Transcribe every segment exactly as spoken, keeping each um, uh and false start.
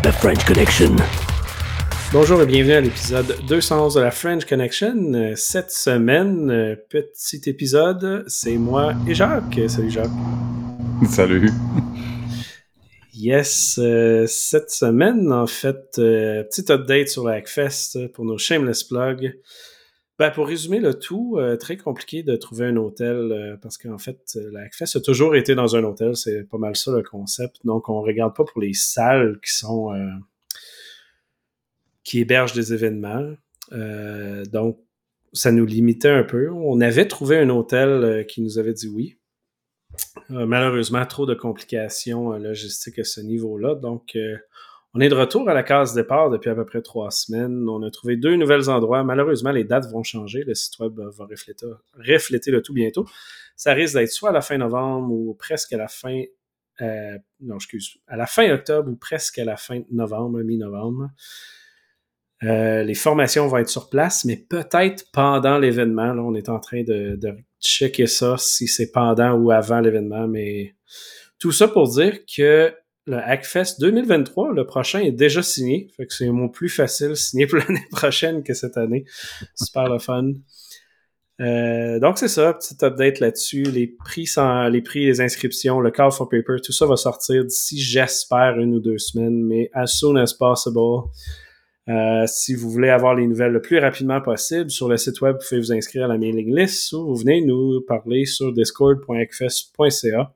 The French Connection. Bonjour et bienvenue à l'épisode deux cent onze de la French Connection. Cette semaine, petit épisode, c'est moi et Jacques. Salut Jacques. Salut. Yes, euh, cette semaine, en fait, euh, petit update sur la Hackfest pour nos shameless plugs. Ben, pour résumer le tout, euh, très compliqué de trouver un hôtel euh, parce qu'en fait, la Hackfest a toujours été dans un hôtel, c'est pas mal ça le concept. Donc, on regarde pas pour les salles qui sont euh, qui hébergent des événements. Euh, donc, ça nous limitait un peu. On avait trouvé un hôtel euh, qui nous avait dit oui. Euh, malheureusement, trop de complications euh, logistiques à ce niveau-là. Donc, euh, on est de retour à la case départ depuis à peu près trois semaines. On a trouvé deux nouveaux endroits. Malheureusement, les dates vont changer. Le site web va refléter, refléter le tout bientôt. Ça risque d'être soit à la fin novembre ou presque à la fin... Euh, non, excuse. À la fin octobre ou presque à la fin novembre, mi-novembre. Euh, les formations vont être sur place, mais peut-être pendant l'événement. Là, on est en train de, de checker ça, si c'est pendant ou avant l'événement. Mais tout ça pour dire que le Hackfest deux mille vingt-trois, le prochain, est déjà signé. Fait que c'est mon plus facile signé pour l'année prochaine que cette année. Super le fun. Euh, donc c'est ça, petit update là-dessus. Les prix, sans, les prix, les inscriptions, le call for paper, tout ça va sortir d'ici, j'espère, une ou deux semaines, mais as soon as possible. Euh, si vous voulez avoir les nouvelles le plus rapidement possible, sur le site web, vous pouvez vous inscrire à la mailing list ou vous venez nous parler sur discord point hackfest point c a.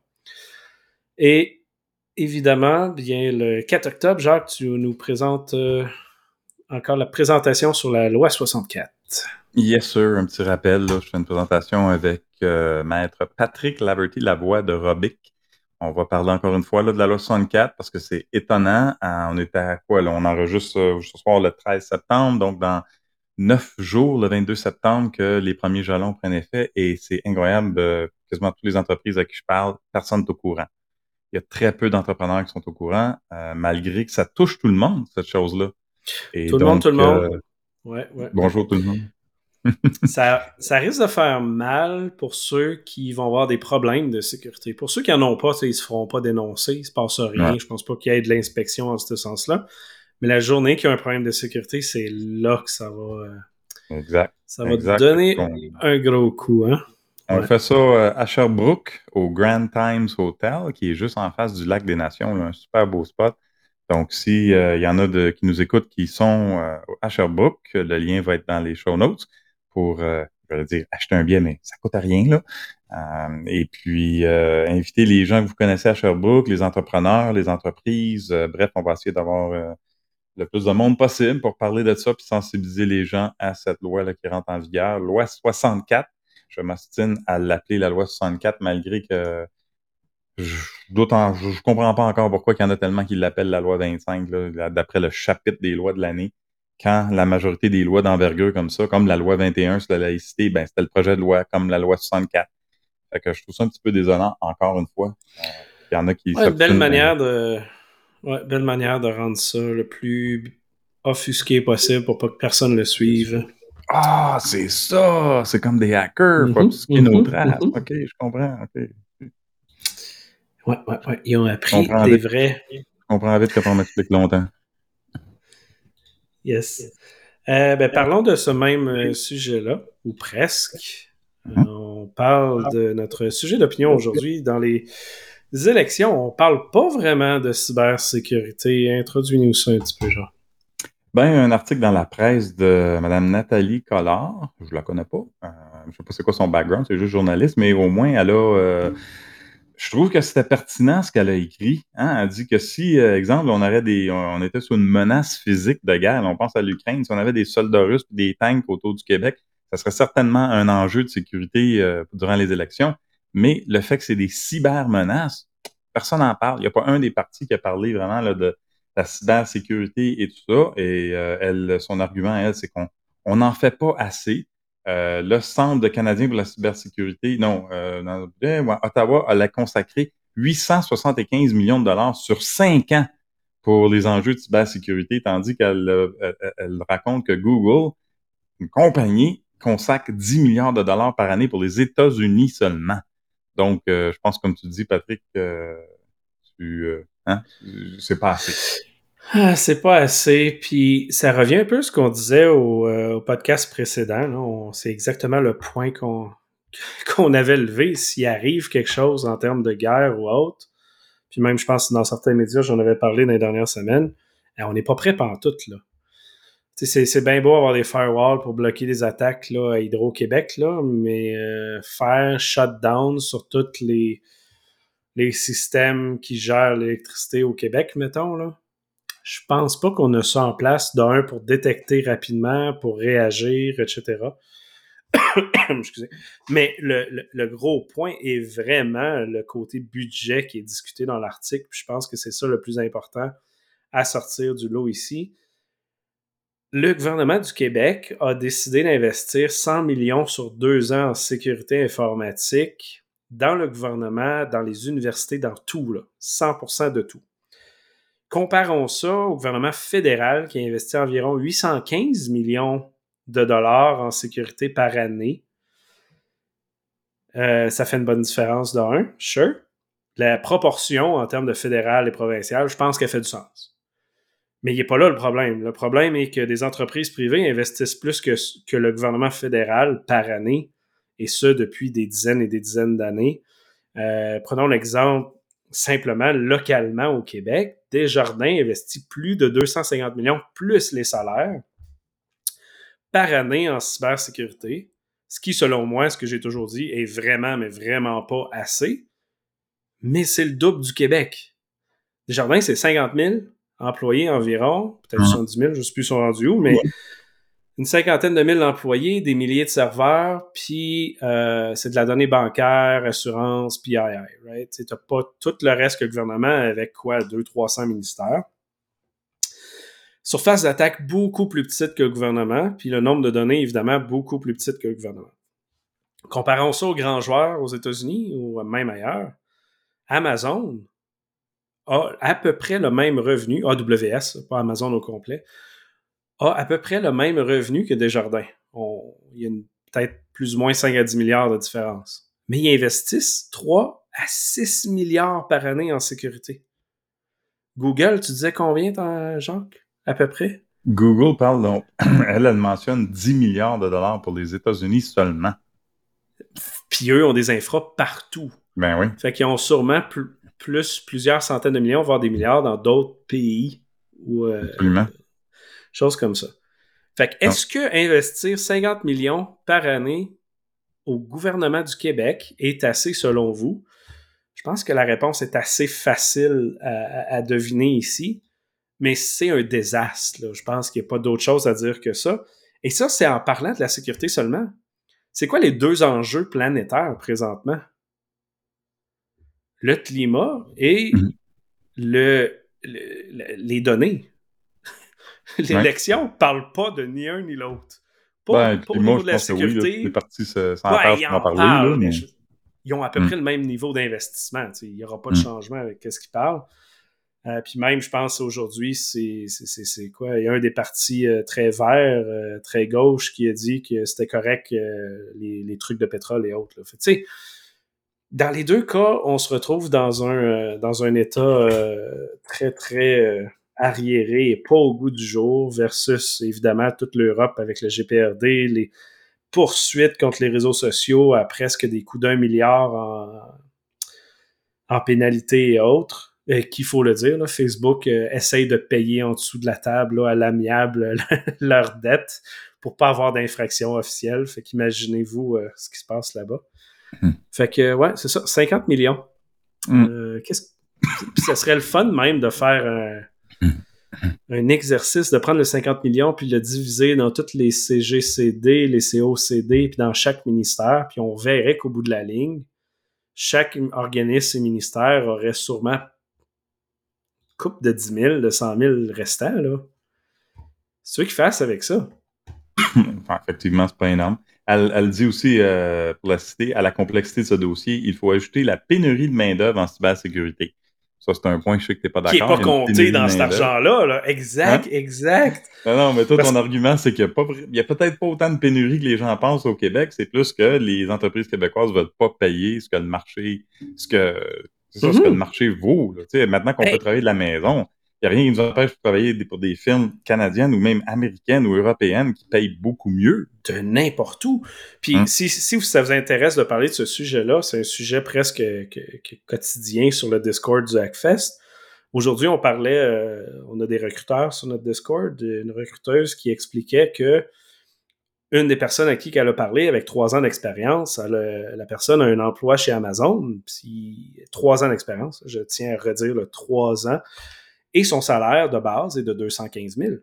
Et évidemment, bien le quatre octobre, Jacques, tu nous présentes euh, encore la présentation sur la loi soixante-quatre. Yes, sir. Un petit rappel, là, je fais une présentation avec euh, Maître Patrick Laverty-Lavoie de Robic. On va parler encore une fois là, de la loi soixante-quatre parce que c'est étonnant. Euh, on était à quoi, là? On enregistre euh, ce soir le treize septembre, donc dans neuf jours, le vingt-deux septembre, que les premiers jalons prennent effet. Et c'est incroyable, euh, quasiment toutes les entreprises à qui je parle, personne n'est au courant. Il y a très peu d'entrepreneurs qui sont au courant, euh, malgré que ça touche tout le monde, cette chose-là. Et tout le donc, monde, tout le monde. Euh, ouais, ouais. Bonjour tout le monde. ça, ça risque de faire mal pour ceux qui vont avoir des problèmes de sécurité. Pour ceux qui n'en ont pas, ils ne se feront pas dénoncer, il ne se passe rien. Ouais. Je pense pas qu'il y ait de l'inspection en ce sens-là. Mais la journée qu'il y a un problème de sécurité, c'est là que ça va, exact. Ça va exact. donner on, un gros coup. Hein? On ouais. fait ça euh, à Sherbrooke, au Grand Times Hotel, qui est juste en face du Lac des Nations, là, un super beau spot. Donc, s'il euh, y en a de, qui nous écoutent qui sont euh, à Sherbrooke, le lien va être dans les show notes pour, euh, je vais dire, acheter un billet, mais ça coûte rien, là. Euh, et puis, euh, inviter les gens que vous connaissez à Sherbrooke, les entrepreneurs, les entreprises. Euh, bref, on va essayer d'avoir euh, le plus de monde possible pour parler de ça puis sensibiliser les gens à cette loi-là qui rentre en vigueur. Loi soixante-quatre. Je m'ostine à l'appeler la loi soixante-quatre, malgré que je, d'autant, je, je comprends pas encore pourquoi il y en a tellement qui l'appellent la loi vingt-cinq, là, d'après le chapitre des lois de l'année, quand la majorité des lois d'envergure comme ça, comme la loi vingt et un sur la laïcité, ben c'était le projet de loi comme la loi soixante-quatre. Fait que je trouve ça un petit peu désolant, encore une fois. Euh, il y en a qui ouais, belle manière de ouais, belle manière de rendre ça le plus offusqué possible pour pas que personne le suive. Ah, c'est ça! C'est comme des hackers, mm-hmm, faut obscurer mm-hmm, nos traces. mm-hmm. OK, je comprends. OK. Ouais, ouais, ouais. Ils ont appris des vite. vrais. Je comprends vite quand on m'explique longtemps. Yes. Euh, ben, parlons de ce même euh, sujet-là, ou presque. Mm-hmm. Euh, on parle de notre sujet d'opinion aujourd'hui. Dans les élections, on parle pas vraiment de cybersécurité. Introduis-nous ça un petit peu, genre. Ben, un article dans la presse de Mme Nathalie Collard, je la connais pas, euh, je sais pas c'est quoi son background, c'est juste journaliste, mais au moins elle a, euh, je trouve que c'était pertinent ce qu'elle a écrit. Hein? Elle dit que si, euh, exemple, on aurait des, on était sous une menace physique de guerre, on pense à l'Ukraine, si on avait des soldats russes et des tanks autour du Québec, ça serait certainement un enjeu de sécurité euh, durant les élections. Mais le fait que c'est des cybermenaces, personne n'en parle. Il n'y a pas un des partis qui a parlé vraiment là, de la cybersécurité et tout ça. Et euh, elle, son argument, elle, c'est qu'on on n'en fait pas assez. Euh, le Centre de Canadien pour la cybersécurité, non, euh, dans, euh, Ottawa, elle a consacré huit cent soixante-quinze millions de dollars sur cinq ans pour les enjeux de cybersécurité, tandis qu'elle euh, elle, elle raconte que Google, une compagnie, consacre dix milliards de dollars par année pour les États-Unis seulement. Donc, euh, je pense, comme tu dis, Patrick, euh, tu, euh, hein, c'est pas assez. Ah, c'est pas assez. Puis ça revient un peu à ce qu'on disait au, euh, au podcast précédent. Là. On- c'est exactement le point qu'on qu'on avait levé. S'il arrive quelque chose en termes de guerre ou autre, puis même, je pense, dans certains médias, j'en avais parlé dans les dernières semaines, eh, on n'est pas prêt pantoute, là. Tu sais, C'est, c'est bien beau avoir des firewalls pour bloquer des attaques là, à Hydro-Québec, là, mais euh, faire shutdown sur tous les, les systèmes qui gèrent l'électricité au Québec, mettons, là, je pense pas qu'on a ça en place, d'un, pour détecter rapidement, pour réagir, et cetera. Excusez. Mais le, le, le gros point est vraiment le côté budget qui est discuté dans l'article. Puis je pense que c'est ça le plus important à sortir du lot ici. Le gouvernement du Québec a décidé d'investir cent millions sur deux ans en sécurité informatique dans le gouvernement, dans les universités, dans tout, là, cent pour cent de tout. Comparons ça au gouvernement fédéral qui a investi environ huit cent quinze millions de dollars en sécurité par année. Euh, ça fait une bonne différence d'un, sure. La proportion en termes de fédéral et provincial, je pense qu'elle fait du sens. Mais il n'est pas là le problème. Le problème est que des entreprises privées investissent plus que, que le gouvernement fédéral par année, et ce, depuis des dizaines et des dizaines d'années. Euh, prenons l'exemple simplement localement au Québec. Desjardins investit plus de deux cent cinquante millions plus les salaires par année en cybersécurité, ce qui, selon moi, ce que j'ai toujours dit, est vraiment, mais vraiment pas assez. Mais c'est le double du Québec. Desjardins, c'est cinquante mille employés environ, peut-être soixante-dix mille, je ne sais plus ils sont rendus où, mais une cinquantaine de mille employés, des milliers de serveurs, puis euh, c'est de la donnée bancaire, assurance, P I I, right? Tu n'as pas tout le reste que le gouvernement avec quoi, deux cents trois cents ministères. Surface d'attaque beaucoup plus petite que le gouvernement, puis le nombre de données, évidemment, beaucoup plus petite que le gouvernement. Comparons ça aux grands joueurs aux États-Unis ou même ailleurs. Amazon a à peu près le même revenu, A W S, pas Amazon au complet, a à peu près le même revenu que Desjardins. On, il y a une, peut-être plus ou moins cinq à dix milliards de différence. Mais ils investissent trois à six milliards par année en sécurité. Google, tu disais combien, Jacques, à peu près? Google parle, donc, elle, elle mentionne dix milliards de dollars pour les États-Unis seulement. Puis eux ont des infras partout. Ben oui. Fait qu'ils ont sûrement plus, plus plusieurs centaines de millions, voire des milliards dans d'autres pays. Ou, euh, Absolument. Choses comme ça. Fait que, est-ce que investir cinquante millions par année au gouvernement du Québec est assez selon vous? Je pense que la réponse est assez facile à, à deviner ici, mais c'est un désastre. Là. Je pense qu'il n'y a pas d'autre chose à dire que ça. Et ça, c'est en parlant de la sécurité seulement. C'est quoi les deux enjeux planétaires présentement? Le climat et mm-hmm. le, le, les données. L'élection ne ouais. parle pas de ni un ni l'autre. Pas, Ben, pas au moi, niveau je de la pense sécurité. Que oui, là, toutes les parties s'entendent ouais, pour en parler. Parlent, Là, mais... je, ils ont à peu mm. près le même niveau d'investissement. Il n'y aura pas de mm. changement avec ce qu'ils parlent. Euh, puis même, je pense aujourd'hui, c'est, c'est, c'est, c'est quoi? Il y a un des partis euh, très verts, euh, très gauche, qui a dit que c'était correct euh, les, les trucs de pétrole et autres. Là. Fait, tu sais, dans les deux cas, on se retrouve dans un, euh, dans un état euh, très, très euh, arriéré et pas au goût du jour versus, évidemment, toute l'Europe avec le G P R D, les poursuites contre les réseaux sociaux à presque des coûts d'un milliard en, en pénalité et autres. Euh, qu'il faut le dire, là, Facebook euh, essaye de payer en dessous de la table là, à l'amiable leur dette pour pas avoir d'infraction officielle. Fait qu'imaginez-vous euh, ce qui se passe là-bas. Mm. Fait que, ouais, c'est ça, cinquante millions. Mm. Euh, qu'est-ce... Puis ça serait le fun même de faire un, mm. un exercice, de prendre le cinquante millions puis le diviser dans toutes les C G C D, les C O C D, puis dans chaque ministère, puis on verrait qu'au bout de la ligne, chaque organisme et ministère aurait sûrement coupe de dix mille, de cent mille restants, là. C'est eux qui fassent avec ça. Enfin, effectivement, c'est pas énorme. Elle, elle dit aussi, euh, pour la citer, à la complexité de ce dossier, il faut ajouter la pénurie de main-d'œuvre en cybersécurité. Ça, c'est un point que je sais que tu n'es pas d'accord. Qui n'est pas compté dans cet argent-là. Là. Exact, hein? exact. Non, non, mais toi, Parce... ton argument, c'est qu'il n'y a, a peut-être pas autant de pénurie que les gens pensent au Québec. C'est plus que les entreprises québécoises ne veulent pas payer ce que le marché, ce que, c'est ça, mm-hmm. ce que le marché vaut. Là. Maintenant qu'on hey. peut travailler de la maison, Il n'y a rien qui nous empêche de travailler pour des films canadiennes ou même américaines ou européennes qui payent beaucoup mieux. De n'importe où. Puis Hum. si, si ça vous intéresse de parler de ce sujet-là, c'est un sujet presque que, que quotidien sur le Discord du Hackfest. Aujourd'hui, on parlait, euh, on a des recruteurs sur notre Discord, une recruteuse qui expliquait que une des personnes à qui elle a parlé, avec trois ans d'expérience, elle a, la personne a un emploi chez Amazon, puis trois ans d'expérience, je tiens à redire le trois ans, et son salaire de base est de deux cent quinze mille.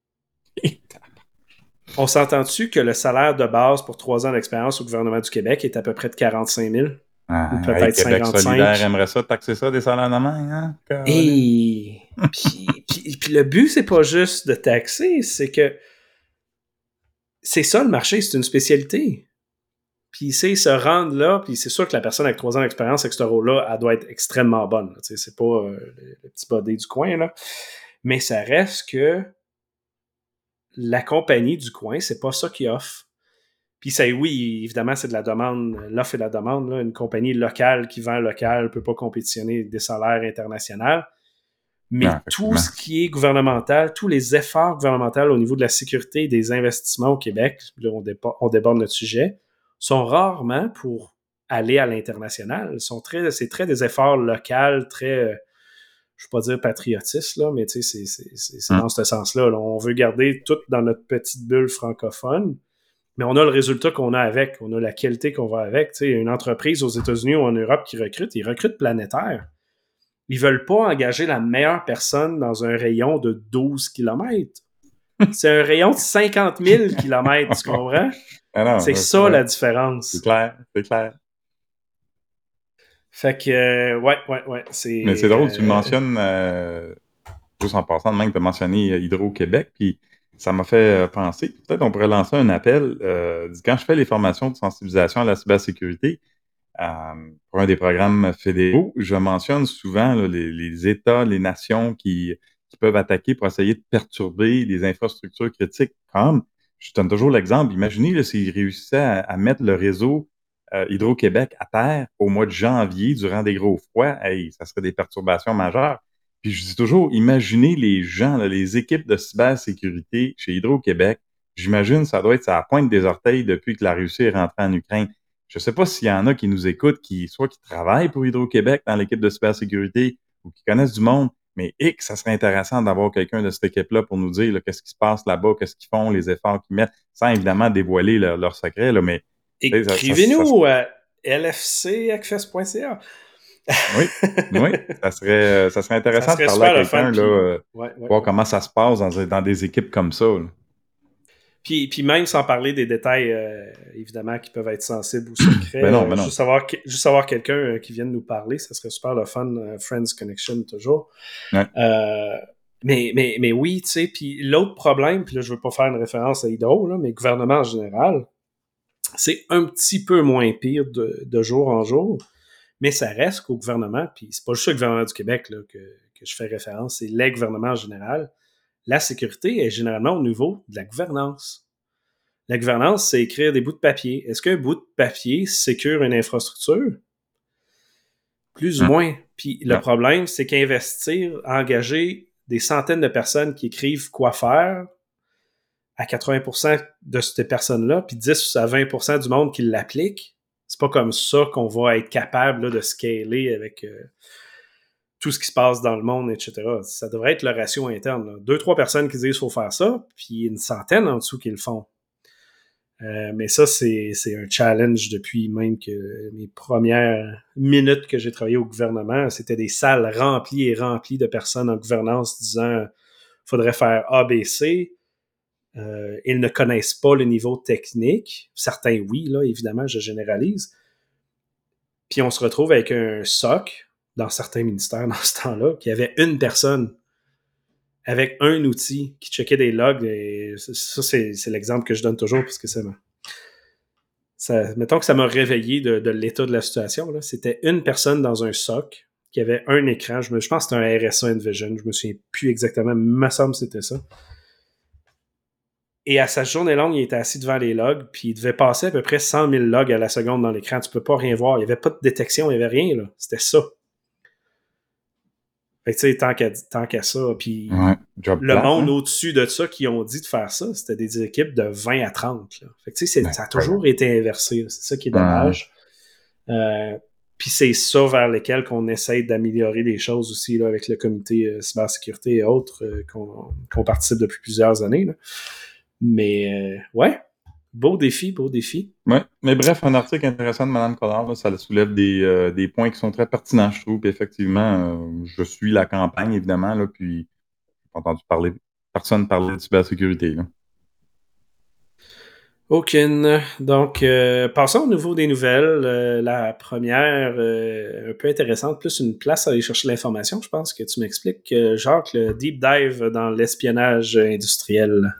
On s'entend-tu que le salaire de base pour trois ans d'expérience au gouvernement du Québec est à peu près de quarante-cinq mille? Ah, Ou peut-être hey, Québec cinquante-cinq. solidaire aimerait ça, taxer ça des salaires de main, hein? Et puis, puis, puis le but, c'est pas juste de taxer, c'est que c'est ça le marché, c'est une spécialité. Puis, c'est se rendre là, puis c'est sûr que la personne avec trois ans d'expérience avec ce rôle-là, elle doit être extrêmement bonne. Là, c'est pas euh, le, le petit body du coin, là. Mais ça reste que la compagnie du coin, c'est pas ça qui offre. Puis ça, oui, évidemment, c'est de la demande, l'offre et la demande. Là. Une compagnie locale qui vend local ne peut pas compétitionner avec des salaires internationaux. Mais Non, tout ce qui est gouvernemental, tous les efforts gouvernementaux au niveau de la sécurité et des investissements au Québec, là, on, dépa- on déborde notre sujet, sont rarement pour aller à l'international. Sont très, c'est très des efforts locaux, très, euh, je ne veux pas dire patriotistes, là, mais c'est, c'est, c'est, c'est hum. dans ce sens-là. Là. On veut garder tout dans notre petite bulle francophone, mais on a le résultat qu'on a avec, on a la qualité qu'on va avec. T'sais, une entreprise aux États-Unis ou en Europe qui recrute, ils recrutent planétaire. Ils veulent pas engager la meilleure personne dans un rayon de douze kilomètres. C'est un rayon de cinquante mille kilomètres, tu comprends? Ah non, c'est là, ça ouais. la différence. C'est clair, c'est clair. Fait que, euh, ouais, ouais, ouais. C'est, Mais c'est drôle, euh, tu le mentionnes, euh, juste en passant de même, tu as mentionné Hydro-Québec, puis ça m'a fait penser, peut-être on pourrait lancer un appel. Euh, quand je fais les formations de sensibilisation à la cybersécurité, euh, pour un des programmes fédéraux, je mentionne souvent là, les, les États, les nations qui, qui peuvent attaquer pour essayer de perturber les infrastructures critiques. Comme, je donne toujours l'exemple, imaginez là, s'ils réussissaient à, à mettre le réseau euh, Hydro-Québec à terre au mois de janvier durant des gros froids, hey, ça serait des perturbations majeures. Puis je dis toujours, imaginez les gens, là, les équipes de cybersécurité chez Hydro-Québec. J'imagine ça doit être à la pointe des orteils depuis que la Russie est rentrée en Ukraine. Je ne sais pas s'il y en a qui nous écoutent, qui soit qui travaillent pour Hydro-Québec dans l'équipe de cybersécurité ou qui connaissent du monde, mais X, ça serait intéressant d'avoir quelqu'un de cette équipe-là pour nous dire là, qu'est-ce qui se passe là-bas, qu'est-ce qu'ils font, les efforts qu'ils mettent, sans évidemment dévoiler leurs leur secrets, là, mais écrivez-nous à l f c hackfest point c a. Oui, oui, ça serait, ça serait intéressant ça serait de parler à quelqu'un, là, euh, ouais, ouais, voir ouais. comment ça se passe dans, dans des équipes comme ça. Là. Puis, puis même sans parler des détails, euh, évidemment, qui peuvent être sensibles ou secrets, ben non, ben ben non. juste avoir, juste avoir quelqu'un euh, qui vienne nous parler, ça serait super le fun, euh, Friends Connection toujours. Ouais. Euh, mais, mais, mais oui, tu sais, puis l'autre problème, puis là, je veux pas faire une référence à Hydro, là, mais le gouvernement en général, c'est un petit peu moins pire de, de jour en jour, mais ça reste qu'au gouvernement, puis c'est pas juste le gouvernement du Québec là, que, que je fais référence, c'est les gouvernements en général, la sécurité est généralement au niveau de la gouvernance. La gouvernance, c'est écrire des bouts de papier. Est-ce qu'un bout de papier sécure une infrastructure? Plus ou Hum. moins. Puis le Ouais. problème, c'est qu'investir, engager des centaines de personnes qui écrivent quoi faire à quatre-vingts pour cent de ces personnes-là, puis dix à vingt pour cent du monde qui l'applique, c'est pas comme ça qu'on va être capable là, de scaler avec euh, tout ce qui se passe dans le monde, et cetera. Ça devrait être le ratio interne. Là. Deux, trois personnes qui disent qu'il faut faire ça, puis une centaine en dessous qui le font. Euh, mais ça, c'est, c'est un challenge depuis même que mes premières minutes que j'ai travaillé au gouvernement. C'était des salles remplies et remplies de personnes en gouvernance disant « faudrait faire A, B, C ». Euh, ils ne connaissent pas le niveau technique. Certains, oui, là, évidemment, je généralise. Puis on se retrouve avec un S O C dans certains ministères dans ce temps-là, qui avait une personne avec un outil qui checkait des logs. Et ça, c'est, c'est l'exemple que je donne toujours parce que ça m'a... Ça, mettons que ça m'a réveillé de, de l'état de la situation. Là. C'était une personne dans un S O C qui avait un écran. Je, me, je pense que c'était un R S A Envision. Je me souviens plus exactement. Il me semble que c'était ça. Et à sa journée longue, il était assis devant les logs, puis il devait passer à peu près cent mille logs à la seconde dans l'écran. Tu peux pas rien voir. Il n'y avait pas de détection, il n'y avait rien. Là. C'était ça. Fait que, tu sais, tant qu'à, tant qu'à ça, puis Ouais, job le plate, monde hein? au-dessus de ça qui ont dit de faire ça, c'était des équipes de vingt à trente. Là. Fait que, tu sais, Ben, ça a incroyable. toujours été inversé. là. C'est ça qui est Ouais. dommage. Euh, Puis c'est ça vers lequel qu'on essaye d'améliorer les choses aussi là, avec le comité euh, cybersécurité et autres euh, qu'on, qu'on participe depuis plusieurs années. Là. Mais euh, ouais, beau défi, beau défi. Ouais. Mais bref, un article intéressant de Mme Collard, là, ça soulève des, euh, des points qui sont très pertinents, je trouve. Puis effectivement, euh, je suis la campagne, évidemment, là, puis j'ai pas entendu parler, personne parler de cybersécurité. Là. Aucune. Donc, euh, passons au niveau des nouvelles. Euh, la première, euh, un peu intéressante, plus une place à aller chercher l'information, je pense que tu m'expliques, euh, Jacques, le deep dive dans l'espionnage industriel.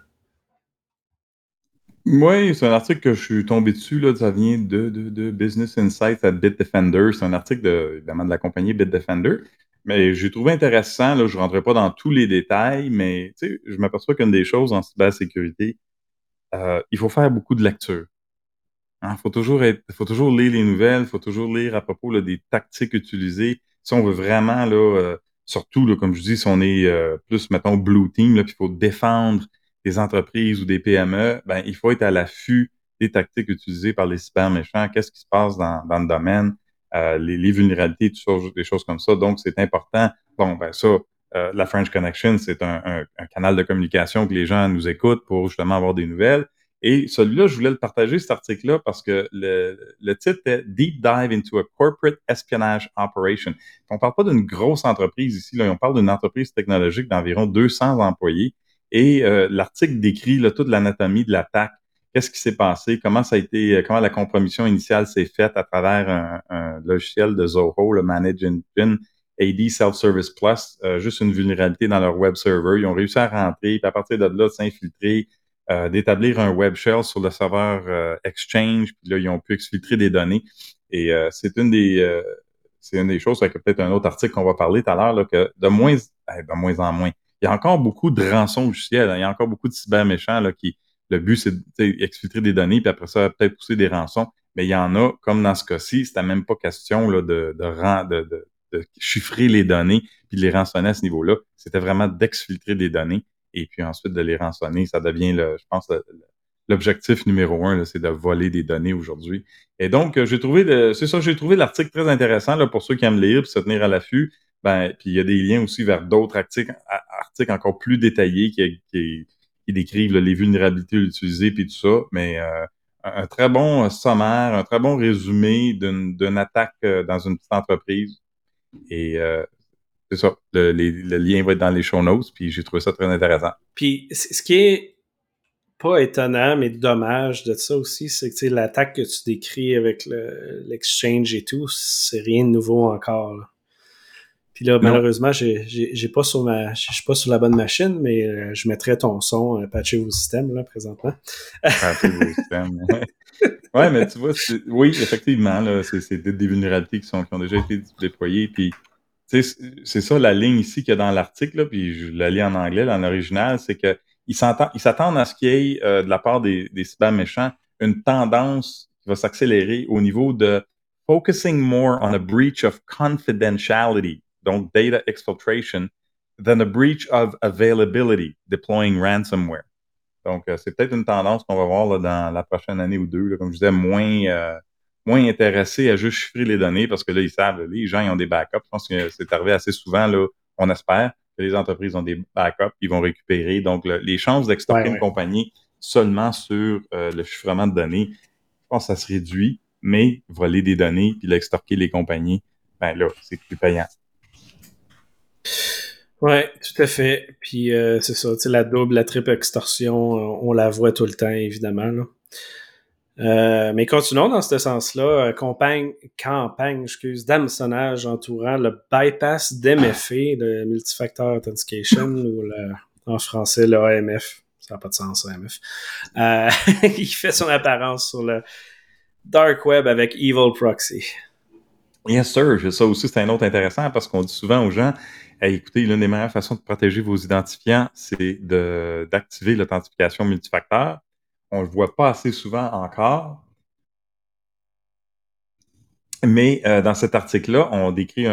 Oui, c'est un article que je suis tombé dessus, là, ça vient de, de, de Business Insights à Bitdefender. C'est un article de, évidemment de la compagnie Bitdefender. Mais j'ai trouvé intéressant, là, je ne rentrerai pas dans tous les détails, mais tu sais, je m'aperçois qu'une des choses en cybersécurité, euh, il faut faire beaucoup de lecture. Il faut toujours être, faut toujours lire les nouvelles, il faut toujours lire à propos là, des tactiques utilisées. Si on veut vraiment, là, euh, surtout, là, comme je dis, si on est euh, plus, mettons, blue team, là, puis il faut défendre des entreprises ou des P M E, ben, il faut être à l'affût des tactiques utilisées par les cyber méchants. Qu'est-ce qui se passe dans, dans le domaine, euh, les, les vulnérabilités, tout ça, des choses comme ça. Donc, c'est important. Bon, ben ça, euh, la French Connection, c'est un, un, un canal de communication que les gens nous écoutent pour justement avoir des nouvelles. Et celui-là, je voulais le partager, cet article-là, parce que le, le titre est Deep Dive into a Corporate Espionage Operation. On ne parle pas d'une grosse entreprise ici, là, on parle d'une entreprise technologique d'environ deux cents employés. Et euh, l'article décrit là, toute l'anatomie de l'attaque. Qu'est-ce qui s'est passé? Comment ça a été, comment la compromission initiale s'est faite à travers un, un logiciel de Zoho, le Manage Engine, A D Self-Service Plus, euh, juste une vulnérabilité dans leur web server. Ils ont réussi à rentrer, puis à partir de là, s'infiltrer, Euh, d'établir un web shell sur le serveur euh, Exchange, puis là, ils ont pu exfiltrer des données. Et euh, c'est une des euh, c'est une des choses, avec peut-être un autre article qu'on va parler tout à l'heure, là, que de moins, ben, de moins en moins. Il y a encore beaucoup de rançons logiciels, hein, il y a encore beaucoup de cyber méchants là, qui, le but, c'est d'exfiltrer des données, puis après ça, peut-être pousser des rançons. Mais il y en a, comme dans ce cas-ci, c'était même pas question là, de, de, ran- de, de, de chiffrer les données puis de les rançonner à ce niveau-là. C'était vraiment d'exfiltrer des données et puis ensuite de les rançonner. Ça devient, le, je pense, le- le- l'objectif numéro un, là, c'est de voler des données aujourd'hui. Et donc, euh, j'ai trouvé, de- c'est ça, j'ai trouvé l'article très intéressant là, pour ceux qui aiment lire et se tenir à l'affût. Ben, puis il y a des liens aussi vers d'autres articles, a- articles encore plus détaillés qui, qui, qui décrivent là, les vulnérabilités utilisées puis tout ça. Mais euh, un, un très bon euh, sommaire, un très bon résumé d'une, d'une attaque euh, dans une petite entreprise. Et euh, c'est ça. Le, les- le lien va être dans les show notes, puis j'ai trouvé ça très intéressant. Puis ce qui est pas étonnant, mais dommage de ça aussi, c'est que tu sais, l'attaque que tu décris avec le, l'exchange et tout, c'est rien de nouveau encore. Là. Puis là, Non. malheureusement, j'ai, j'ai, j'ai pas sur ma, je suis pas sur la bonne machine, mais euh, je mettrais ton son, euh, patcher vos systèmes là présentement. Patcher vos systèmes. Ouais, mais tu vois, c'est- oui, effectivement, là, c'est, c'est des, des vulnérabilités qui, sont, qui ont déjà été déployées. Puis, tu sais, c'est c'est ça la ligne ici qu'il y a dans l'article, là, puis je la lis en anglais, dans l'original, c'est que ils s'entendent, ils s'attendent à ce qu'il y ait, euh, de la part des, des cyber méchants, une tendance qui va s'accélérer au niveau de focusing more on a breach of confidentiality, donc data exfiltration, than a breach of availability, deploying ransomware. Donc, euh, c'est peut-être une tendance qu'on va voir là, dans la prochaine année ou deux. Là, comme je disais, moins, euh, moins intéressés à juste chiffrer les données parce que là, ils savent, là, les gens ils ont des backups. Je pense que c'est arrivé assez souvent, là, on espère que les entreprises ont des backups, ils vont récupérer. Donc, le- les chances Ouais, d'extorquer une ouais. compagnie seulement sur euh, le chiffrement de données, je pense que ça se réduit, mais voler des données puis l'extorquer les compagnies, ben là, c'est plus payant. Ouais, tout à fait. Puis euh, c'est ça, tu sais, la double, la triple extorsion, euh, on la voit tout le temps, évidemment. Là. Euh, mais continuons dans ce sens-là. Euh, campagne, campagne, excuse, d'hameçonnage entourant le bypass d'M F A, le Multifactor Authentication, ou le, en français, le A M F. Ça n'a pas de sens, A M F. Euh, il fait son apparence sur le Dark Web avec Evil Proxy. Yes, sir. Ça aussi, c'est un autre intéressant parce qu'on dit souvent aux gens, hey, écoutez, l'une des meilleures façons de protéger vos identifiants, c'est de, d'activer l'authentification multifacteur. On ne le voit pas assez souvent encore, mais euh, dans cet article-là, on décrit un,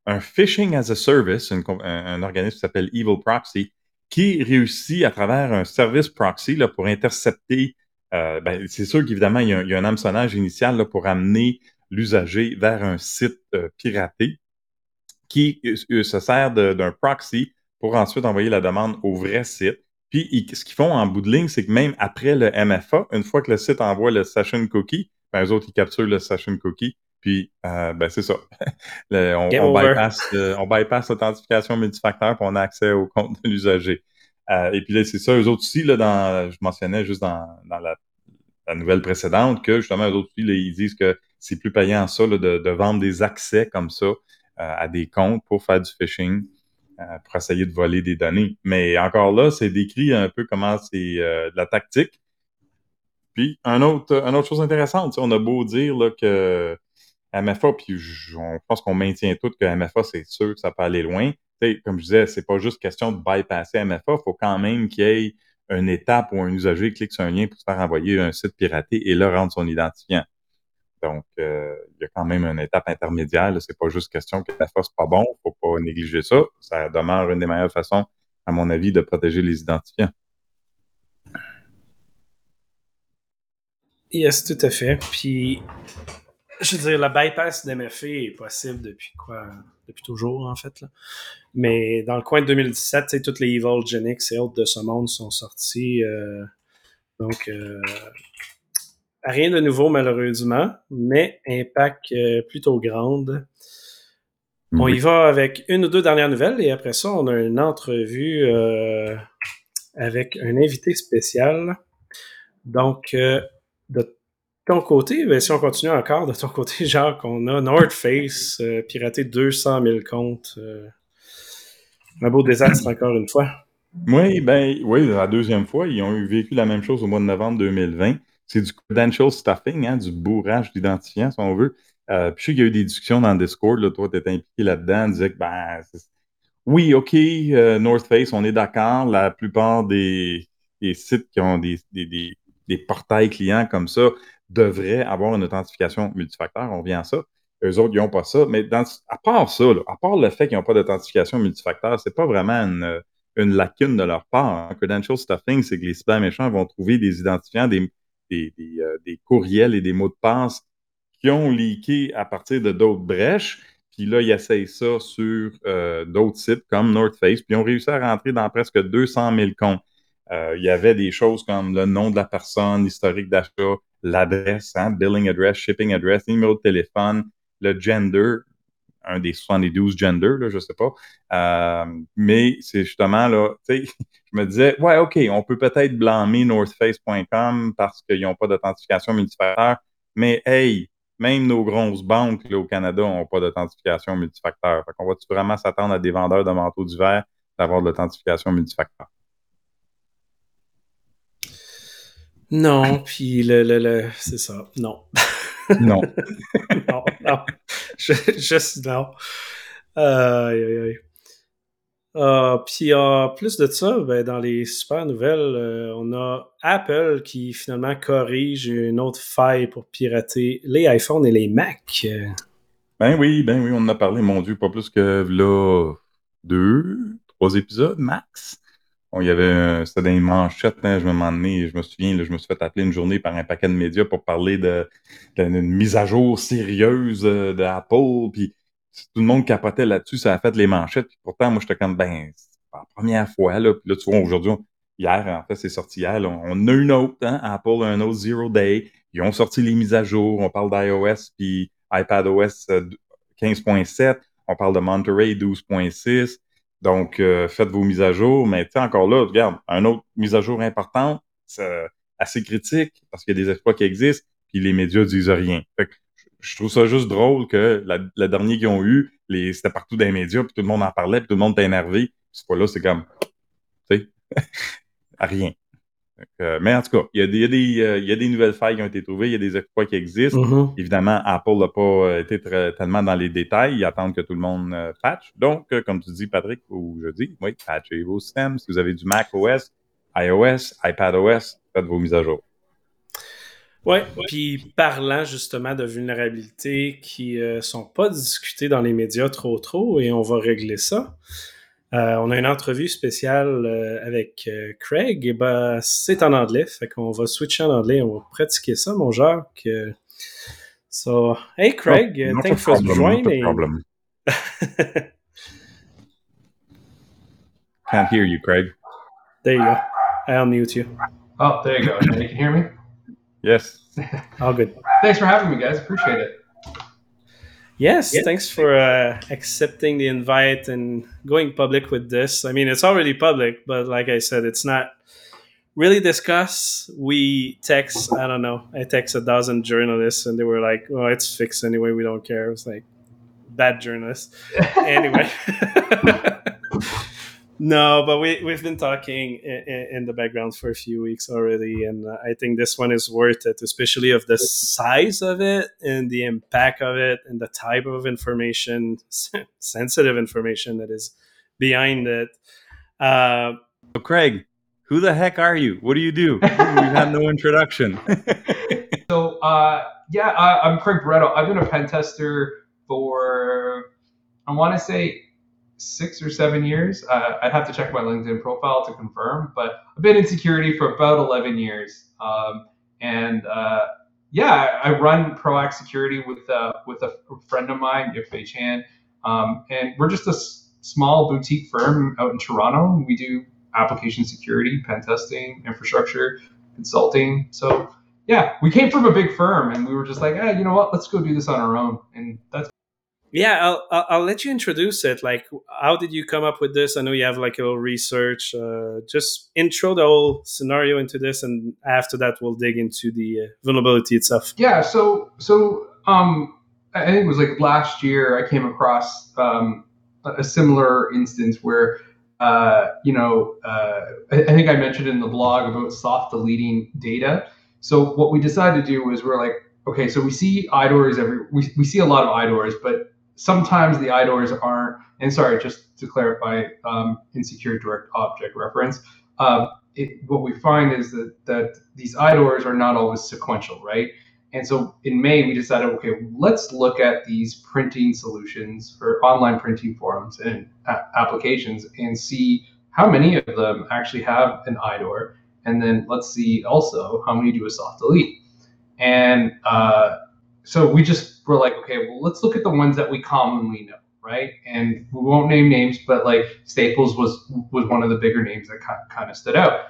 un phishing as a service, une, un, un organisme qui s'appelle Evil Proxy, qui réussit à travers un service proxy là, pour intercepter. Euh, ben, c'est sûr qu'évidemment, il y, a, il y a un hameçonnage initial là, pour amener l'usager vers un site euh, piraté qui euh, se sert de, d'un proxy pour ensuite envoyer la demande au vrai site. Puis, ils, ce qu'ils font en bout de ligne, c'est que même après le M F A, une fois que le site envoie le session cookie, ben, eux autres, ils capturent le session cookie. Puis, euh, ben, c'est ça. Le, on, Game on over. bypass, euh, on bypass l'authentification multifacteur puis on a accès au compte de l'usager. Euh, et puis là, c'est ça, eux autres aussi, là, dans, je mentionnais juste dans, dans la, la nouvelle précédente, que justement, eux autres aussi, là, ils disent que c'est plus payant ça, là, de, de vendre des accès comme ça euh, à des comptes pour faire du phishing, euh, pour essayer de voler des données. Mais encore là, c'est décrit un peu comment c'est euh, de la tactique. Puis, un autre, une autre chose intéressante, on a beau dire là, que M F A, puis je on pense qu'on maintient tout que M F A, c'est sûr que ça peut aller loin. T'sais, comme je disais, c'est pas juste question de bypasser M F A, il faut quand même qu'il y ait une étape où un usager clique sur un lien pour se faire envoyer un site piraté et là rendre son identifiant. Donc, euh, il y a quand même une étape intermédiaire. Là. C'est pas juste question que M F A, c'est pas bon, faut pas négliger ça. Ça demeure une des meilleures façons, à mon avis, de protéger les identifiants. Yes, tout à fait. Puis, je veux dire, le bypass d'M F A est possible depuis quoi? Depuis toujours, en fait. Là. Mais dans le coin de deux mille dix-sept, toutes les Evil Genix et autres de ce monde sont sortis. Euh, donc, euh, rien de nouveau, malheureusement, mais impact euh, plutôt grande. On Oui. y va avec une ou deux dernières nouvelles et après ça, on a une entrevue euh, avec un invité spécial. Donc, euh, de ton côté, ben, si on continue encore, de ton côté, Jacques, on a North Face euh, piraté deux cent mille comptes. Euh, un beau désastre encore une fois. Oui, ben, oui, la deuxième fois, ils ont eu vécu la même chose au mois de novembre deux mille vingt. C'est du credential stuffing, hein, du bourrage d'identifiants, si on veut. Euh, puis je sais qu'il y a eu des discussions dans le Discord, là, toi, tu étais impliqué là-dedans, disais que, ben, c'est... oui, OK, euh, North Face, on est d'accord, la plupart des, des sites qui ont des, des, des, des portails clients comme ça devraient avoir une authentification multifacteur, on vient à ça. Eux autres, ils n'ont pas ça. Mais dans, à part ça, là, à part le fait qu'ils n'ont pas d'authentification multifacteur, c'est pas vraiment une une lacune de leur part. Hein. Credential stuffing, c'est que les cyber méchants vont trouver des identifiants, des, des, des, euh, des courriels et des mots de passe qui ont leaké à partir de d'autres brèches. Puis là, ils essayent ça sur euh, d'autres sites comme North Face. Puis ils ont réussi à rentrer dans presque deux cent mille comptes. Euh, il y avait des choses comme le nom de la personne, l'historique d'achat, l'adresse, hein, billing address, shipping address, numéro de téléphone, le gender, un des soixante-douze genders, là, je sais pas. Euh, mais c'est justement là, tu sais, je me disais, ouais, OK, on peut peut-être blâmer north face point com parce qu'ils n'ont pas d'authentification multifacteur, mais hey, même nos grosses banques là, au Canada n'ont pas d'authentification multifacteur. Fait qu'on va-tu vraiment s'attendre à des vendeurs de manteaux d'hiver d'avoir de l'authentification multifacteur? Non, puis le, le, le c'est ça, non. Non. non, non. Je, juste non. Euh, aïe, aïe, aïe. Euh, puis en plus de ça, ben, dans les super nouvelles, euh, on a Apple qui finalement corrige une autre faille pour pirater les iPhones et les Macs. Ben oui, ben oui, on en a parlé, mon Dieu, pas plus que là, deux, trois épisodes max. Bon, il y avait, euh, c'était dans les manchettes, hein, je me demandais, je me souviens, là, je me suis fait appeler une journée par un paquet de médias pour parler de, d'une mise à jour sérieuse euh, d'Apple, puis tout le monde capotait là-dessus, ça a fait les manchettes, puis pourtant, moi, j'étais comme, ben, c'est pas la première fois, là, puis là, tu vois, aujourd'hui, on- hier, en fait, c'est sorti hier, là, on a une autre, hein, Apple a un autre Zero Day, ils ont sorti les mises à jour, on parle d'iOS, puis iPadOS euh, quinze point sept, on parle de Monterey douze point six, donc, euh, faites vos mises à jour. Mais tu sais, encore là, regarde, un autre mise à jour importante, c'est assez critique parce qu'il y a des exploits qui existent, puis les médias disent rien. Fait que je trouve ça juste drôle que la, la dernière qu'ils ont eu, les, c'était partout dans les médias, puis tout le monde en parlait, puis tout le monde était énervé. Puis ce fois-là, c'est comme, tu sais, rien. Euh, mais en tout cas, il y a des, il y a des, euh, il y a des nouvelles failles qui ont été trouvées, il y a des exploits qui existent. Mm-hmm. Évidemment, Apple n'a pas euh, été très, tellement dans les détails. Ils attendent que tout le monde euh, patch. Donc, euh, comme tu dis, Patrick, ou je dis, oui, patchez vos systèmes. Si vous avez du macOS, iOS, iPadOS, faites vos mises à jour. Ouais, puis parlant justement de vulnérabilités qui ne sont pas discutées dans les médias trop trop, et on va régler ça. Euh, on a une entrevue spéciale euh, avec euh, Craig, et ben c'est en anglais, fait qu'on va switcher en anglais, on va pratiquer ça, mon Jacques. So, hey Oh, Craig, uh, not a thanks for problem, not a joining. problem. Can't hear you, Craig. There you go. I'll mute you. Oh, there you go. Now you can hear me? Yes. All good. Thanks for having me, guys. Appreciate it. Yes, yes. Thanks for uh, accepting the invite and going public with this. I mean, it's already public, but like I said, it's not really discussed. We text, I don't know, I text a dozen journalists and they were like, oh, it's fixed anyway. We don't care. It was like, bad journalists. Anyway. No, but we, we've been talking in, in the background for a few weeks already, and I think this one is worth it, especially of the size of it and the impact of it and the type of information, sensitive information that is behind it. Uh, so Craig, who the heck are you? What do you do? We've had no introduction. so, uh, yeah, I, I'm Craig Barreto. I've been a pen tester for, I want to say, six or seven years. Uh, I'd have to check my LinkedIn profile to confirm, but I've been in security for about eleven years. Um, and uh, yeah, I run Proact Security with uh, with a friend of mine, Yifei Chan. Um, and we're just a s- small boutique firm out in Toronto. We do application security, pen testing, infrastructure, consulting. So yeah, we came from a big firm and we were just like, hey, you know what, let's go do this on our own. And that's Yeah, I'll, I'll I'll let you introduce it. Like, how did you come up with this? I know you have like a little research. Uh, just intro the whole scenario into this, and after that, we'll dig into the uh, vulnerability itself. Yeah. So so um, I think it was like last year I came across um, a similar instance where uh, you know uh, I, I think I mentioned in the blog about soft deleting data. So what we decided to do was we're like, okay, so we see I D O Rs every we we see a lot of I D O Rs, but sometimes the I D O Rs aren't, and sorry, just to clarify, um, insecure direct object reference, uh, it, what we find is that, that these I D O Rs are not always sequential, right? And so in May, we decided, okay, let's look at these printing solutions or online printing forums and a- applications and see how many of them actually have an I D O R. And then let's see also how many do a soft delete. And uh, so we just were like, okay, well, let's look at the ones that we commonly know, right? And we won't name names, but like Staples was was one of the bigger names that kind of stood out.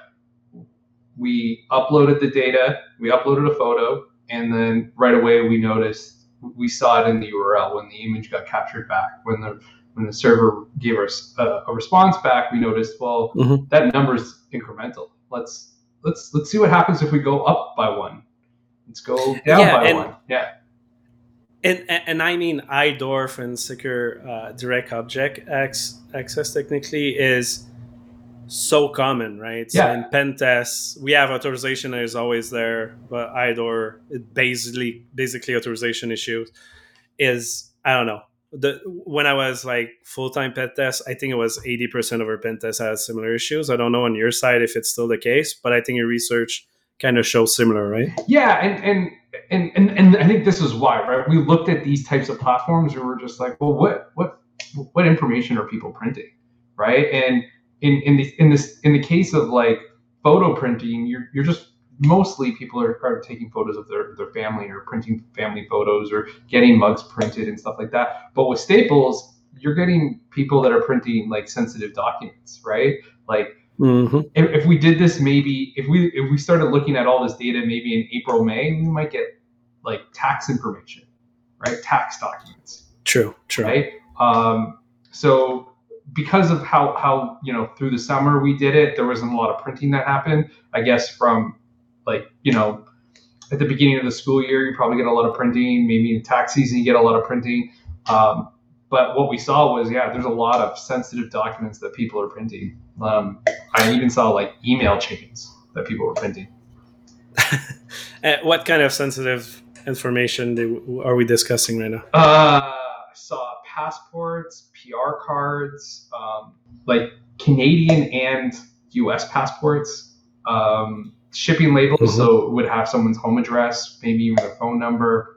We uploaded the data, we uploaded a photo, and then right away we noticed, we saw it in the U R L when the image got captured back. When the when the server gave us a, a response back, we noticed, well, mm-hmm. that number's incremental. Let's let's let's see what happens if we go up by one. Let's go down yeah, by and, one. Yeah. And, and, and I mean, I D O R F and secure uh, direct object access technically is so common, right? Yeah. So in pen tests, we have authorization that is always there, but I D O R, it basically, basically authorization issues is, I don't know. The, when I was like full-time pen test, I think it was eighty percent of our pen tests had similar issues. I don't know on your side if it's still the case, but I think your research kind of shows similar, right? Yeah, and and and and, and I think this is why, right? We looked at these types of platforms and we're just like, well, what what what information are people printing, right? And in in the in this in the case of like photo printing, you're you're just mostly people are, are taking photos of their, their family or printing family photos or getting mugs printed and stuff like that. But with Staples, you're getting people that are printing like sensitive documents, right? Like mm-hmm. if, if we did this, maybe if we if we started looking at all this data, maybe in April, May, we might get like tax information, right? Tax documents. True, true. Right. Um, so because of how how you know through the summer we did it, there wasn't a lot of printing that happened. I guess from like, you know, at the beginning of the school year, you probably get a lot of printing. Maybe in tax season, you get a lot of printing. Um, but what we saw was, yeah, there's a lot of sensitive documents that people are printing. Um, I even saw like email chains that people were printing. What kind of sensitive information do, are we discussing right now? Uh, I saw passports, P R cards, um, like Canadian and U S passports. um, shipping labels, mm-hmm. so it would have someone's home address, maybe even their phone number.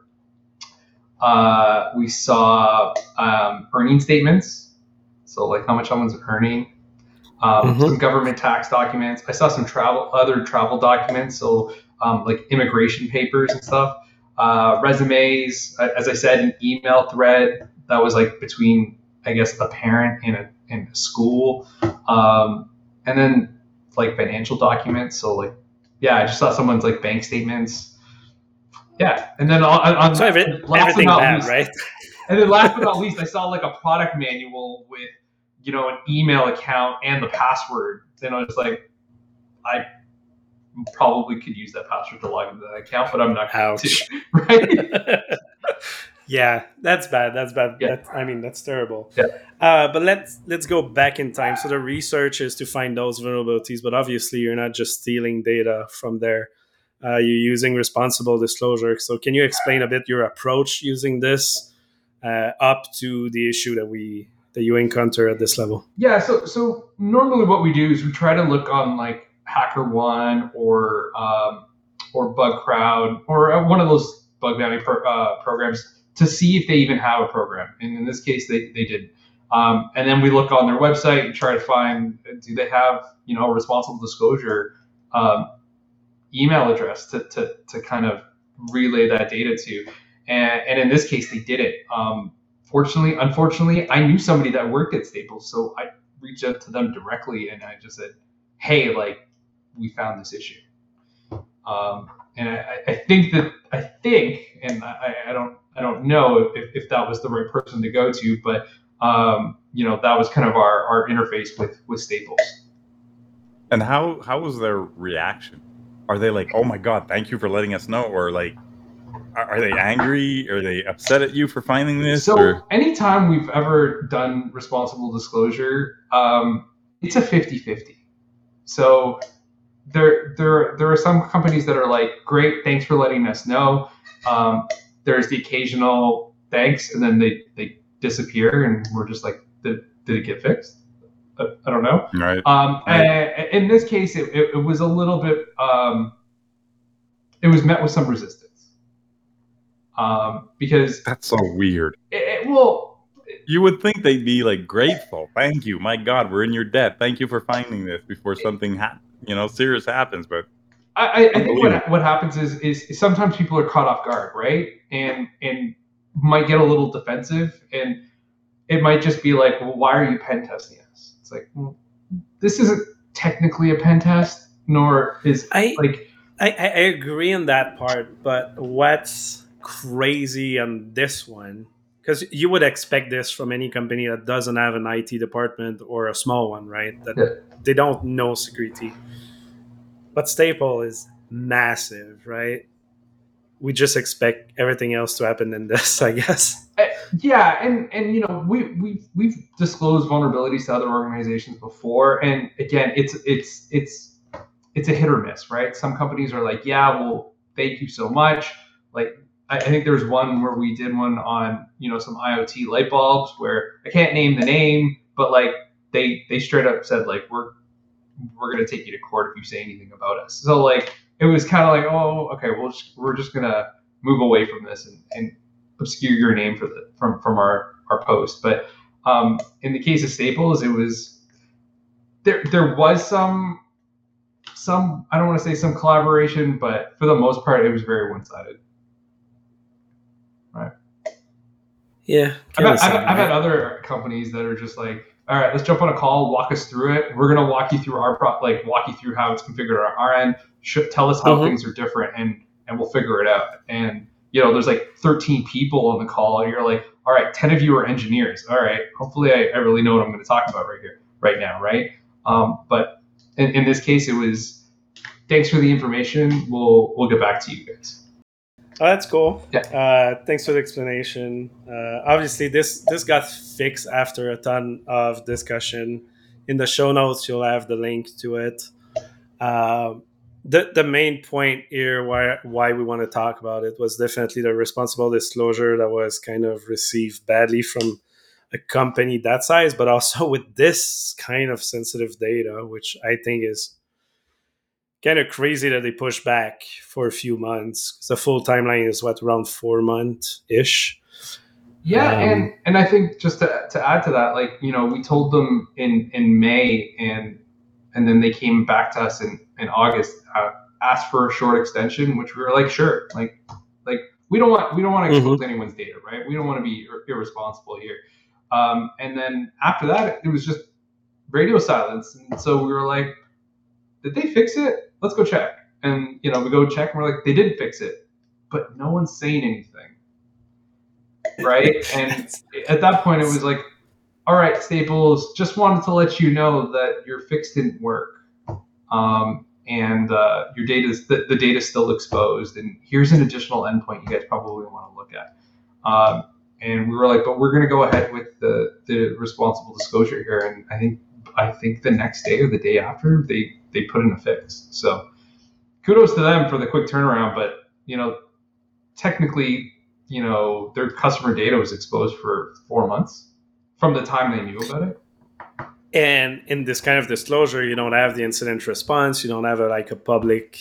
Uh, we saw um, earning statements, so like how much someone's earning. Um, mm-hmm. Some government tax documents. I saw some travel, other travel documents, so um, like immigration papers and stuff. Uh, resumes, as I said, an email thread that was like between, I guess, a parent and a, and a school, um, and then like financial documents. So like, yeah, I just saw someone's like bank statements. Yeah, and then on, on so every, everything bad, least, right? And then last but not least, I saw like a product manual with, you know, an email account and the password. And I was like, I probably could use that password to log into that account, but I'm not going to, right? Yeah, that's bad. That's bad. Yeah. That's, I mean, that's terrible. Yeah. Uh, but let's let's go back in time. So the research is to find those vulnerabilities, but obviously you're not just stealing data from there. Uh, you're using responsible disclosure. So can you explain a bit your approach using this uh, up to the issue that we that you encounter at this level? Yeah. So so normally what we do is we try to look on like HackerOne or um, or BugCrowd or one of those bug bounty pro, uh, programs to see if they even have a program. And in this case, they they did. Um, and then we look on their website and try to find, do they have, you know, a responsible disclosure um, email address to, to, to kind of relay that data to. And, and in this case, they did it. Um, fortunately, unfortunately, I knew somebody that worked at Staples. So I reached out to them directly and I just said, hey, like, we found this issue. Um, and I, I think that, I think, and I, I don't, I don't know if, if that was the right person to go to, but, um, you know, that was kind of our, our interface with, with Staples. And how, how was their reaction? Are they like, oh my God, thank you for letting us know? Or like, are, are they angry? Are they upset at you for finding this? So or? Anytime we've ever done responsible disclosure, um, it's a fifty-fifty. So there, there, there are some companies that are like, great, thanks for letting us know. Um, there's the occasional thanks, and then they, they disappear, and we're just like, did, did it get fixed? I, I don't know. Right. Um, right. In this case, it, it, it was a little bit, um, it was met with some resistance. Um, because that's so weird. It, it, well, you would think they'd be like grateful. Thank you. My God, we're in your debt. Thank you for finding this before something ha- you know, serious happens. But I, I think what what happens is, is sometimes people are caught off guard, right? And and might get a little defensive, and it might just be like, well, why are you pen testing us? It's like, well, this isn't technically a pen test, nor is I like. I, I agree on that part, but what's crazy on this one, because you would expect this from any company that doesn't have an I T department or a small one, right? That yeah. They don't know security. But Staple is massive, right? We just expect everything else to happen in this, I guess. Uh, yeah, and and you know we we we've disclosed vulnerabilities to other organizations before, and again, it's it's it's it's a hit or miss, right? Some companies are like, yeah, well, thank you so much. Like I, I think there's one where we did one on you know some IoT light bulbs where I can't name the name, but like they they straight up said like we're we're going to take you to court if you say anything about us. So like, it was kind of like, oh, okay, we'll just, we're just going to move away from this and, and obscure your name for the, from, from our, our post. But um, in the case of Staples, it was, there, there was some, some, I don't want to say some collaboration, but for the most part, it was very one-sided. Right. Yeah. I've had, I've, I've had other companies that are just like, all right, let's jump on a call, walk us through it. We're going to walk you through our pro- like walk you through how it's configured on our end. Should, tell us how mm-hmm. things are different, and and we'll figure it out. And you know, there's like thirteen people on the call, and you're like, all right, ten of you are engineers. All right, hopefully I, I really know what I'm going to talk about right here, right now, right? Um, but in, in this case, it was thanks for the information. We'll we'll get back to you guys. Oh, that's cool. Yeah. Uh, thanks for the explanation. Uh, obviously, this this got fixed after a ton of discussion. In the show notes, you'll have the link to it. Uh, the the main point here, why why we want to talk about it, was definitely the responsible disclosure that was kind of received badly from a company that size, but also with this kind of sensitive data, which I think is kind of crazy that they pushed back for a few months. The full timeline is what, around four months ish. Yeah, Um, and and I think just to to add to that, like, you know, we told them in in May, and and then they came back to us in in August, uh, asked for a short extension, which we were like, sure, like like we don't want we don't want to expose mm-hmm. anyone's data, right? We don't want to be ir- irresponsible here. Um, and then after that, it was just radio silence, and so we were like, did they fix it? Let's go check. And you know, we go check, and we're like, they didn't fix it, but no one's saying anything. Right. And at that point it was like, all right, Staples, just wanted to let you know that your fix didn't work. Um, and uh, your data is the, the data is still exposed. And here's an additional endpoint you guys probably want to look at. Um, and we were like, but we're going to go ahead with the, the responsible disclosure here. And I think I think the next day or the day after they, they put in a fix. So kudos to them for the quick turnaround. But, you know, technically, you know, their customer data was exposed for four months from the time they knew about it. And in this kind of disclosure, you don't have the incident response. You don't have a, like a public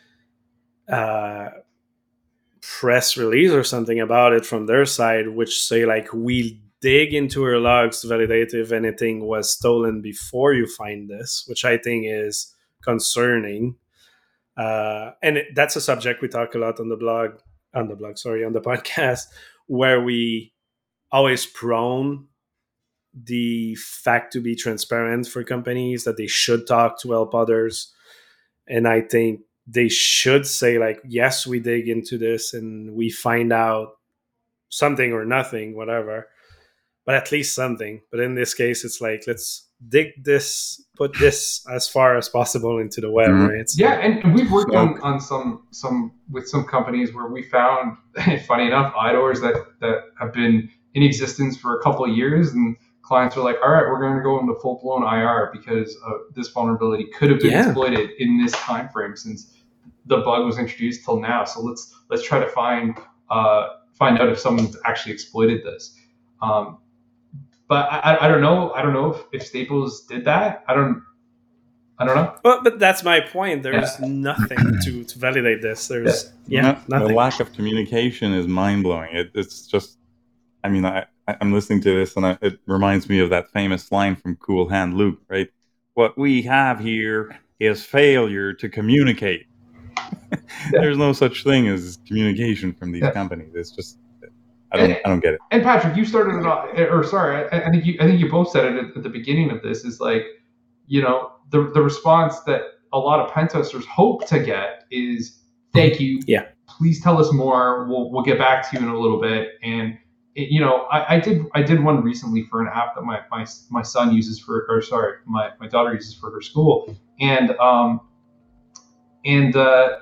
uh, press release or something about it from their side, which say like, we dig into our logs to validate if anything was stolen before you find this, which I think is concerning. Uh, and it, that's a subject we talk a lot on the blog. on the blog, sorry, on the podcast, where we always prone the fact to be transparent for companies, that they should talk to help others. And I think they should say like, yes, we dig into this and we find out something or nothing, whatever, but at least something. But in this case, it's like, let's dig this, put this as far as possible into the web, mm-hmm. right? So, yeah, and we've worked on, on some some with some companies where we found, funny enough, I D O Rs that, that have been in existence for a couple of years, and clients are like, all right, we're going to go into full-blown I R because uh, this vulnerability could have been yeah. exploited in this time frame since the bug was introduced till now. So let's let's try to find uh, find out if someone's actually exploited this. Um, But I, I don't know. I don't know if, if Staples did that. I don't. I don't know. Well, but that's my point. There's yeah. nothing to, to validate this. There's yeah, yeah nothing. The lack of communication is mind blowing. It, it's just. I mean, I, I'm listening to this, and I, it reminds me of that famous line from Cool Hand Luke, right? What we have here is failure to communicate. yeah. There's no such thing as communication from these yeah. companies. It's just. I don't. And, I don't get it. And Patrick, you started it off, or sorry, I, I think you. I think you both said it at, at the beginning of this. Is like, you know, the the response that a lot of pen testers hope to get is, "Thank you. Yeah. Please tell us more. We'll we'll get back to you in a little bit." And it, you know, I, I did I did one recently for an app that my my, my son uses for, or sorry, my, my daughter uses for her school, and um, and uh,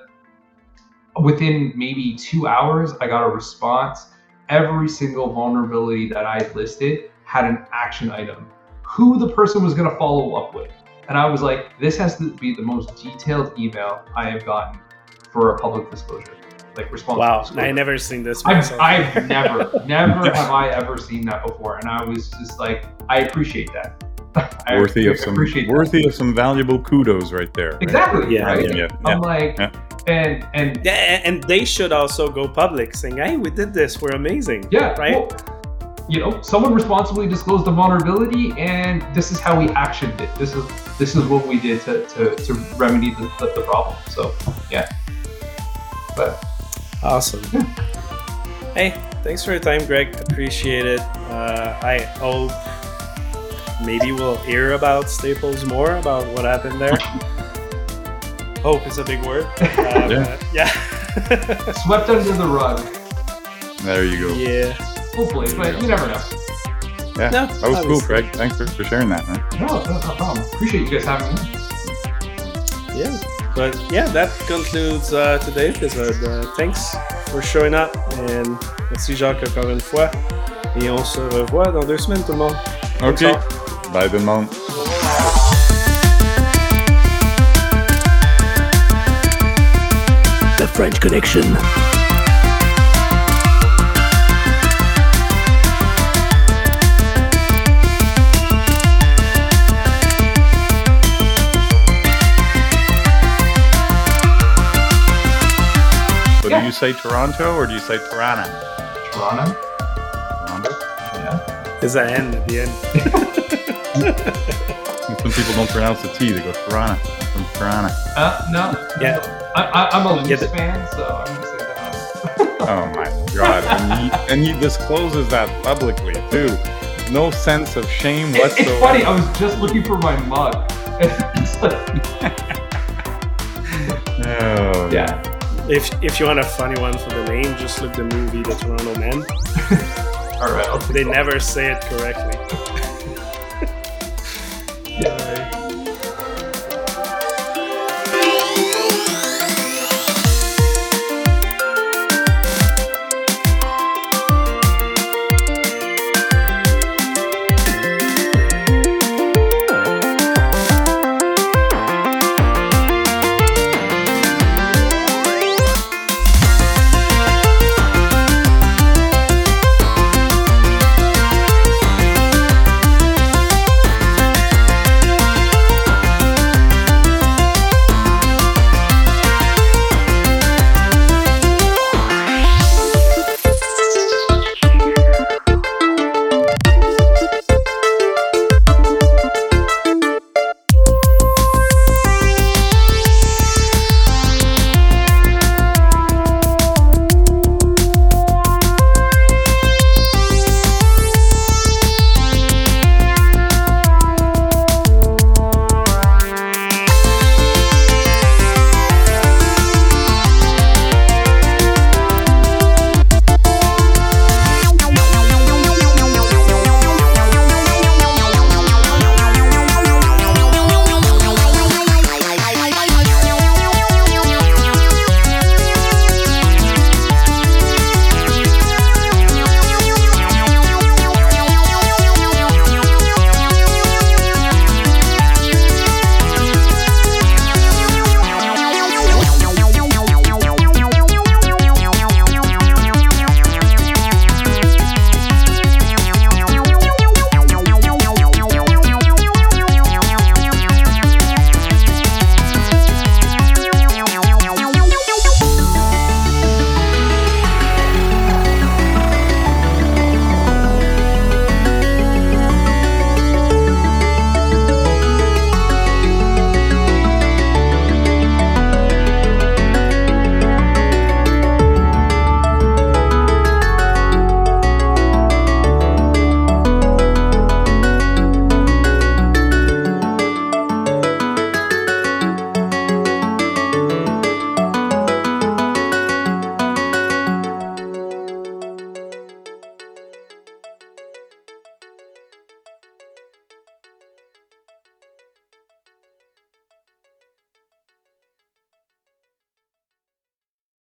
within maybe two hours, I got a response. Every single vulnerability that I listed had an action item, who the person was going to follow up with. And I was like, this has to be the most detailed email I have gotten for a public disclosure, like responsible wow, disclosure. I never seen this. I've, I've never, never have I ever seen that before. And I was just like, I appreciate that. I worthy of some, worthy that. of some valuable kudos right there. Right? Exactly. Yeah. Right? Yeah, yeah, I'm yeah. like, yeah. and and yeah, and they should also go public, saying, "Hey, we did this. We're amazing." Yeah. Right. Well, you know, someone responsibly disclosed the vulnerability, and this is how we actioned it. This is this is what we did to to, to remedy the, the, the problem. So yeah. But awesome. Yeah. Hey, thanks for your time, Greg. Appreciate it. Uh, I hope. Maybe we'll hear about Staples more, about what happened there. Hope is a big word. Uh, yeah. yeah. Swept under the rug. There you go. Yeah. Hopefully, but you, you never know. Yeah, no, that was obviously. Cool, Craig. Thanks for, for sharing that, man. No, no, no problem. Appreciate you guys having me. Yeah, but yeah, that concludes uh, today's episode. Uh, thanks for showing up, and merci Jacques encore une fois. Et on se revoit dans deux semaines, tout le monde. Ok, bye tout le monde. The French Connection. do you say Toronto or do you say Toronto? Toronto. Toronto? Yeah. There's an N at the end. Some people don't pronounce the T, they go Toronto. I'm from Toronto. Uh, no. Yeah. I, I, I'm a Leafs Yeah, the- fan, so I'm going to say that. Oh my god. And he, and he discloses that publicly too. No sense of shame It, whatsoever. it's funny. I was just looking for my mug. It's like, Oh, yeah. If if you want a funny one for the name, just look the movie The Toronto Men. All right. I'll take They that. never say it correctly.